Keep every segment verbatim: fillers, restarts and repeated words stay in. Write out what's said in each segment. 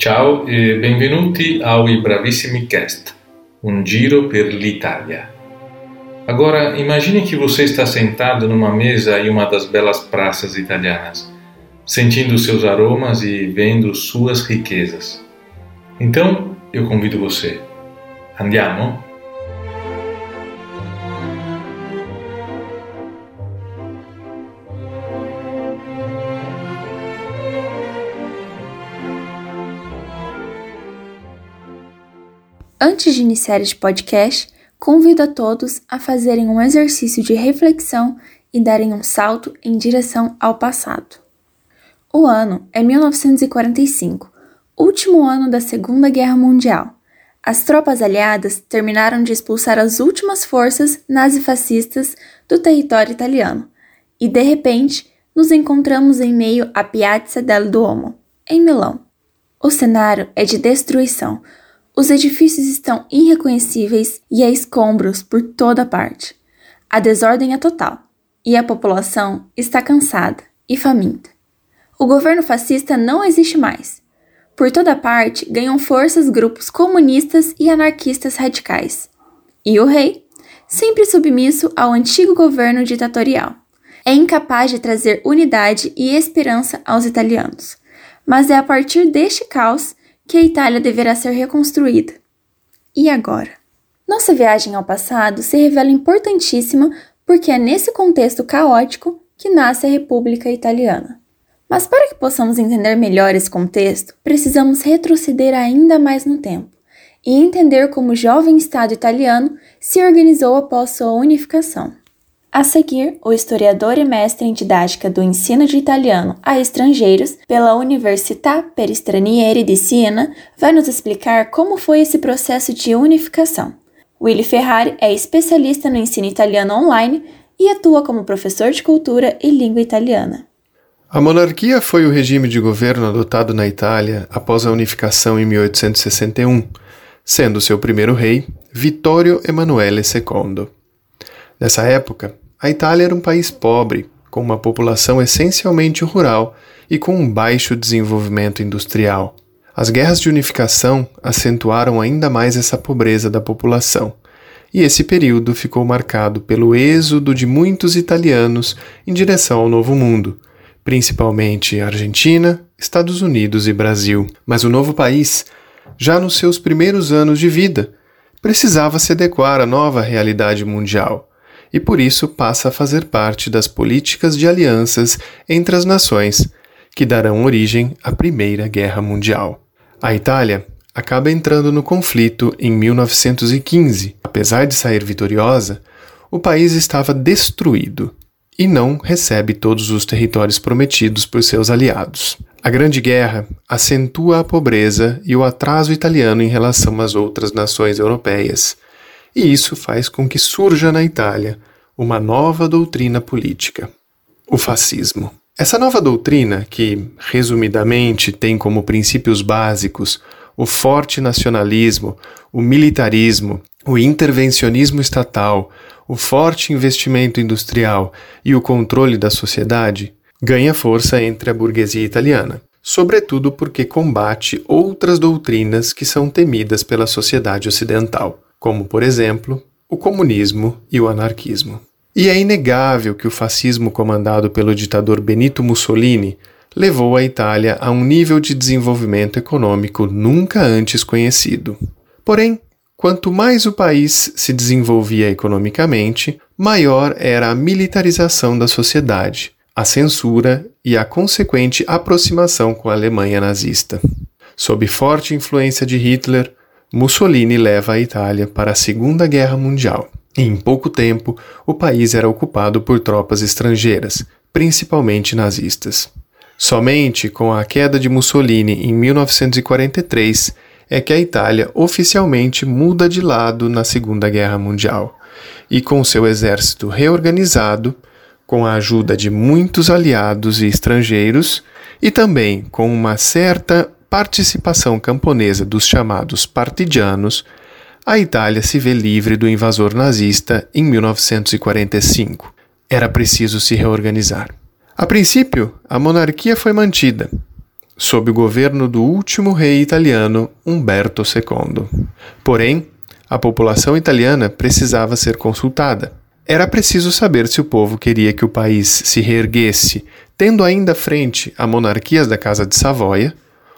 Ciao e benvenuti ao I Bravissimi Cast, um giro per l'Italia. Agora, imagine que você está sentado numa mesa em uma das belas praças italianas, sentindo seus aromas e vendo suas riquezas. Então, eu convido você. Andiamo? Antes de iniciar este podcast, convido a todos a fazerem um exercício de reflexão e darem um salto em direção ao passado. O ano é mil novecentos e quarenta e cinco, último ano da Segunda Guerra Mundial. As tropas aliadas terminaram de expulsar as últimas forças nazifascistas do território italiano e, de repente, nos encontramos em meio à Piazza del Duomo, em Milão. O cenário é de destruição. Os edifícios estão irreconhecíveis e há escombros por toda parte. A desordem é total e a população está cansada e faminta. O governo fascista não existe mais. Por toda parte ganham forças grupos comunistas e anarquistas radicais. E o rei, sempre submisso ao antigo governo ditatorial, é incapaz de trazer unidade e esperança aos italianos. Mas é a partir deste caos que a Itália deverá ser reconstruída. E agora? Nossa viagem ao passado se revela importantíssima porque é nesse contexto caótico que nasce a República Italiana. Mas para que possamos entender melhor esse contexto, precisamos retroceder ainda mais no tempo e entender como o jovem Estado italiano se organizou após sua unificação. A seguir, o historiador e mestre em didática do ensino de italiano a estrangeiros pela Università per Stranieri di Siena vai nos explicar como foi esse processo de unificação. Willy Ferrari é especialista no ensino italiano online e atua como professor de cultura e língua italiana. A monarquia foi o regime de governo adotado na Itália após a unificação em mil oitocentos e sessenta e um, sendo seu primeiro rei Vittorio Emanuele segundo. Nessa época, a Itália era um país pobre, com uma população essencialmente rural e com um baixo desenvolvimento industrial. As guerras de unificação acentuaram ainda mais essa pobreza da população, e esse período ficou marcado pelo êxodo de muitos italianos em direção ao Novo Mundo, principalmente Argentina, Estados Unidos e Brasil. Mas o novo país, já nos seus primeiros anos de vida, precisava se adequar à nova realidade mundial, e por isso passa a fazer parte das políticas de alianças entre as nações, que darão origem à Primeira Guerra Mundial. A Itália acaba entrando no conflito em mil novecentos e quinze. Apesar de sair vitoriosa, o país estava destruído e não recebe todos os territórios prometidos por seus aliados. A Grande Guerra acentua a pobreza e o atraso italiano em relação às outras nações europeias, e isso faz com que surja na Itália uma nova doutrina política, o fascismo. Essa nova doutrina, que, resumidamente, tem como princípios básicos o forte nacionalismo, o militarismo, o intervencionismo estatal, o forte investimento industrial e o controle da sociedade, ganha força entre a burguesia italiana, sobretudo porque combate outras doutrinas que são temidas pela sociedade ocidental, como, por exemplo, o comunismo e o anarquismo. E é inegável que o fascismo comandado pelo ditador Benito Mussolini levou a Itália a um nível de desenvolvimento econômico nunca antes conhecido. Porém, quanto mais o país se desenvolvia economicamente, maior era a militarização da sociedade, a censura e a consequente aproximação com a Alemanha nazista. Sob forte influência de Hitler, Mussolini leva a Itália para a Segunda Guerra Mundial. E em pouco tempo, o país era ocupado por tropas estrangeiras, principalmente nazistas. Somente com a queda de Mussolini em mil novecentos e quarenta e três é que a Itália oficialmente muda de lado na Segunda Guerra Mundial, e com seu exército reorganizado, com a ajuda de muitos aliados e estrangeiros, e também com uma certa participação camponesa dos chamados partigianos, a Itália se vê livre do invasor nazista em mil novecentos e quarenta e cinco. Era preciso se reorganizar. A princípio, a monarquia foi mantida, sob o governo do último rei italiano, Umberto secondo. Porém, a população italiana precisava ser consultada. Era preciso saber se o povo queria que o país se reerguesse, tendo ainda frente a monarquias da Casa de Savoia,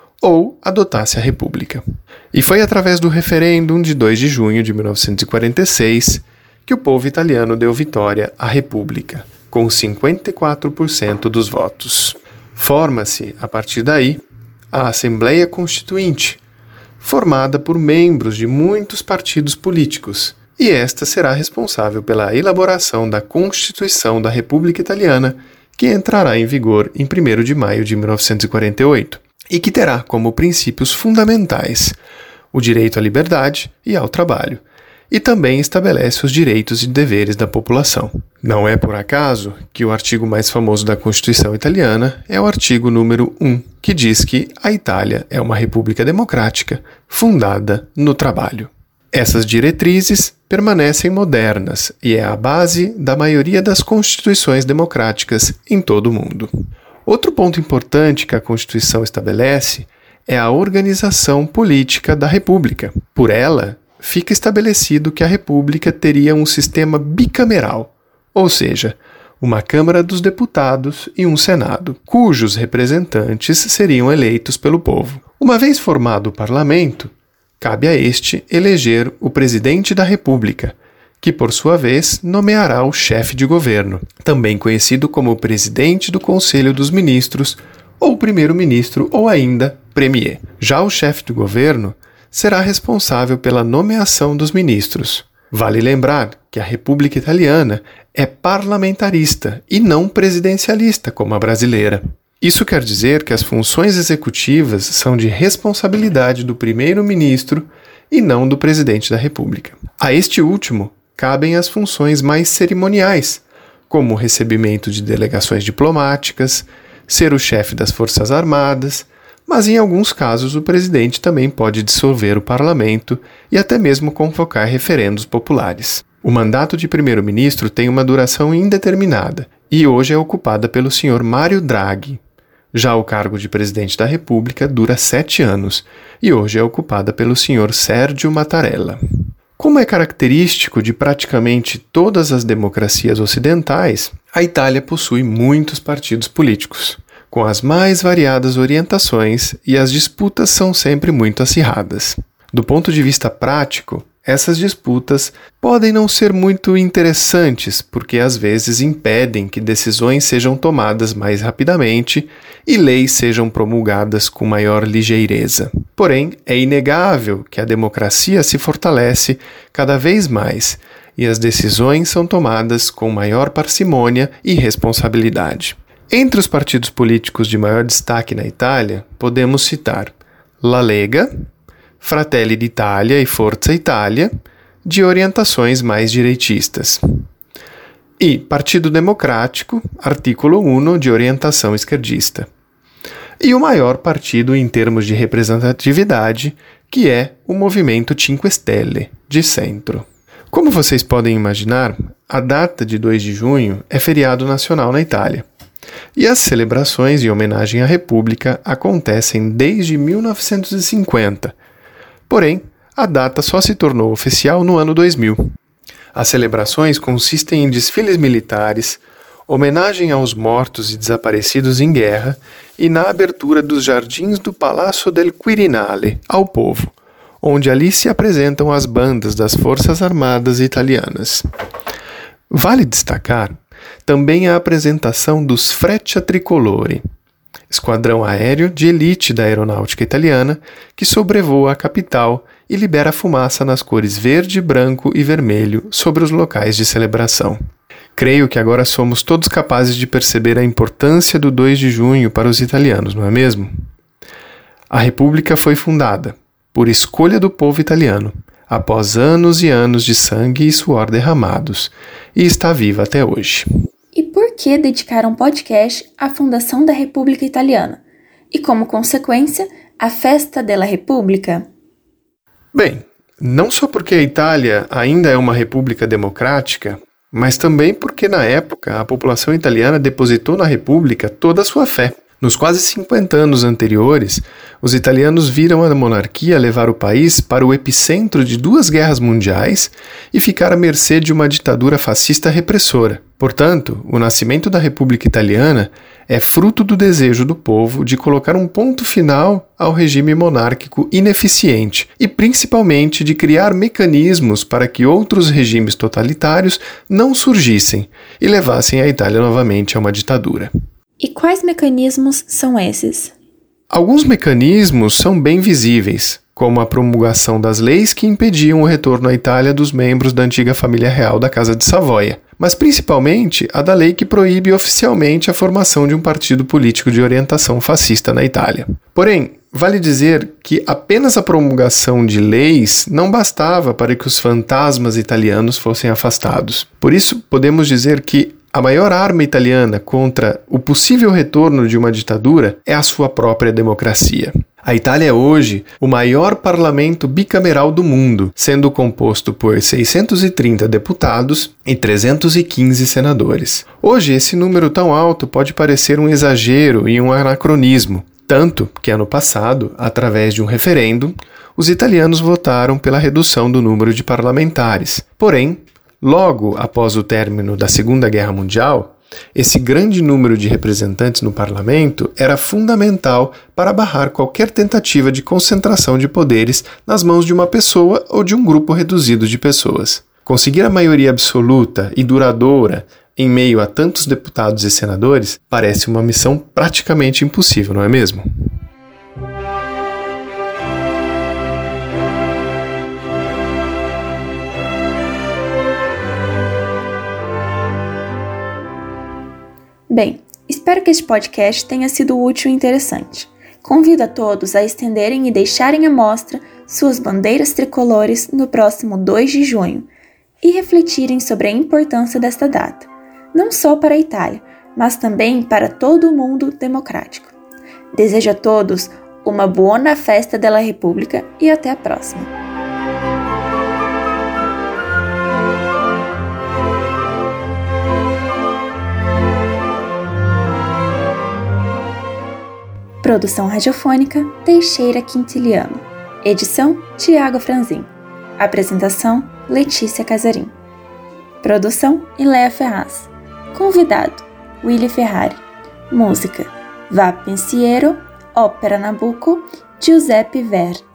ou adotasse a República. E foi através do referêndum de dois de junho de mil novecentos e quarenta e seis que o povo italiano deu vitória à República, com cinquenta e quatro por cento dos votos. Forma-se, a partir daí, a Assembleia Constituinte, formada por membros de muitos partidos políticos, e esta será responsável pela elaboração da Constituição da República Italiana, que entrará em vigor em primeiro de maio de mil novecentos e quarenta e oito, e que terá como princípios fundamentais o direito à liberdade e ao trabalho, e também estabelece os direitos e deveres da população. Não é por acaso que o artigo mais famoso da Constituição italiana é o artigo número um, que diz que a Itália é uma república democrática fundada no trabalho. Essas diretrizes permanecem modernas e é a base da maioria das constituições democráticas em todo o mundo. Outro ponto importante que a Constituição estabelece é a organização política da República. Por ela, fica estabelecido que a República teria um sistema bicameral, ou seja, uma Câmara dos Deputados e um Senado, cujos representantes seriam eleitos pelo povo. Uma vez formado o parlamento, cabe a este eleger o presidente da República, que por sua vez nomeará o chefe de governo, também conhecido como presidente do Conselho dos Ministros, ou primeiro-ministro, ou ainda premier. Já o chefe do governo será responsável pela nomeação dos ministros. Vale lembrar que a República Italiana é parlamentarista e não presidencialista como a brasileira. Isso quer dizer que as funções executivas são de responsabilidade do primeiro-ministro e não do presidente da República. A este último cabem as funções mais cerimoniais, como o recebimento de delegações diplomáticas, ser o chefe das Forças Armadas, mas em alguns casos o presidente também pode dissolver o parlamento e até mesmo convocar referendos populares. O mandato de primeiro-ministro tem uma duração indeterminada e hoje é ocupada pelo senhor Mário Draghi. Já o cargo de presidente da República dura sete anos e hoje é ocupada pelo senhor Sérgio Mattarella. Como é característico de praticamente todas as democracias ocidentais, a Itália possui muitos partidos políticos, com as mais variadas orientações, e as disputas são sempre muito acirradas. Do ponto de vista prático, essas disputas podem não ser muito interessantes, porque às vezes impedem que decisões sejam tomadas mais rapidamente e leis sejam promulgadas com maior ligeireza. Porém, é inegável que a democracia se fortalece cada vez mais e as decisões são tomadas com maior parcimônia e responsabilidade. Entre os partidos políticos de maior destaque na Itália, podemos citar La Lega, Fratelli d'Italia e Forza Italia, de orientações mais direitistas, e Partido Democrático, artículo um, de orientação esquerdista, e o maior partido em termos de representatividade, que é o Movimento Cinque Stelle, de centro. Como vocês podem imaginar, a data de dois de junho é feriado nacional na Itália, e as celebrações em homenagem à República acontecem desde mil novecentos e cinquenta, porém, a data só se tornou oficial no ano dois mil. As celebrações consistem em desfiles militares, homenagem aos mortos e desaparecidos em guerra e na abertura dos jardins do Palazzo del Quirinale ao povo, onde ali se apresentam as bandas das Forças Armadas italianas. Vale destacar também a apresentação dos Freccia Tricolori, esquadrão aéreo de elite da aeronáutica italiana que sobrevoa a capital e libera fumaça nas cores verde, branco e vermelho sobre os locais de celebração. Creio que agora somos todos capazes de perceber a importância do dois de junho para os italianos, não é mesmo? A República foi fundada, por escolha do povo italiano, após anos e anos de sangue e suor derramados, e está viva até hoje. E por que dedicar um podcast à fundação da República Italiana? E, como consequência, a Festa della Repubblica? Bem, não só porque a Itália ainda é uma república democrática, mas também porque, na época, a população italiana depositou na República toda a sua fé. Nos quase cinquenta anos anteriores, os italianos viram a monarquia levar o país para o epicentro de duas guerras mundiais e ficar à mercê de uma ditadura fascista repressora. Portanto, o nascimento da República Italiana é fruto do desejo do povo de colocar um ponto final ao regime monárquico ineficiente e, principalmente, de criar mecanismos para que outros regimes totalitários não surgissem e levassem a Itália novamente a uma ditadura. E quais mecanismos são esses? Alguns mecanismos são bem visíveis, como a promulgação das leis que impediam o retorno à Itália dos membros da antiga família real da Casa de Savoia, mas principalmente a da lei que proíbe oficialmente a formação de um partido político de orientação fascista na Itália. Porém, vale dizer que apenas a promulgação de leis não bastava para que os fantasmas italianos fossem afastados. Por isso, podemos dizer que a maior arma italiana contra o possível retorno de uma ditadura é a sua própria democracia. A Itália é hoje o maior parlamento bicameral do mundo, sendo composto por seiscentos e trinta deputados e trezentos e quinze senadores. Hoje, esse número tão alto pode parecer um exagero e um anacronismo, tanto que ano passado, através de um referendo, os italianos votaram pela redução do número de parlamentares. Porém, logo após o término da Segunda Guerra Mundial, esse grande número de representantes no parlamento era fundamental para barrar qualquer tentativa de concentração de poderes nas mãos de uma pessoa ou de um grupo reduzido de pessoas. Conseguir a maioria absoluta e duradoura em meio a tantos deputados e senadores parece uma missão praticamente impossível, não é mesmo? Bem, espero que este podcast tenha sido útil e interessante. Convido a todos a estenderem e deixarem à mostra suas bandeiras tricolores no próximo dois de junho e refletirem sobre a importância desta data, não só para a Itália, mas também para todo o mundo democrático. Desejo a todos uma buona festa della Repubblica e até a próxima. Produção radiofônica Teixeira Quintiliano. Edição Tiago Franzin. Apresentação Letícia Casarim. Produção Iléa Ferraz. Convidado Willy Ferrari. Música Va Pensiero, Ópera Nabucco, Giuseppe Verdi.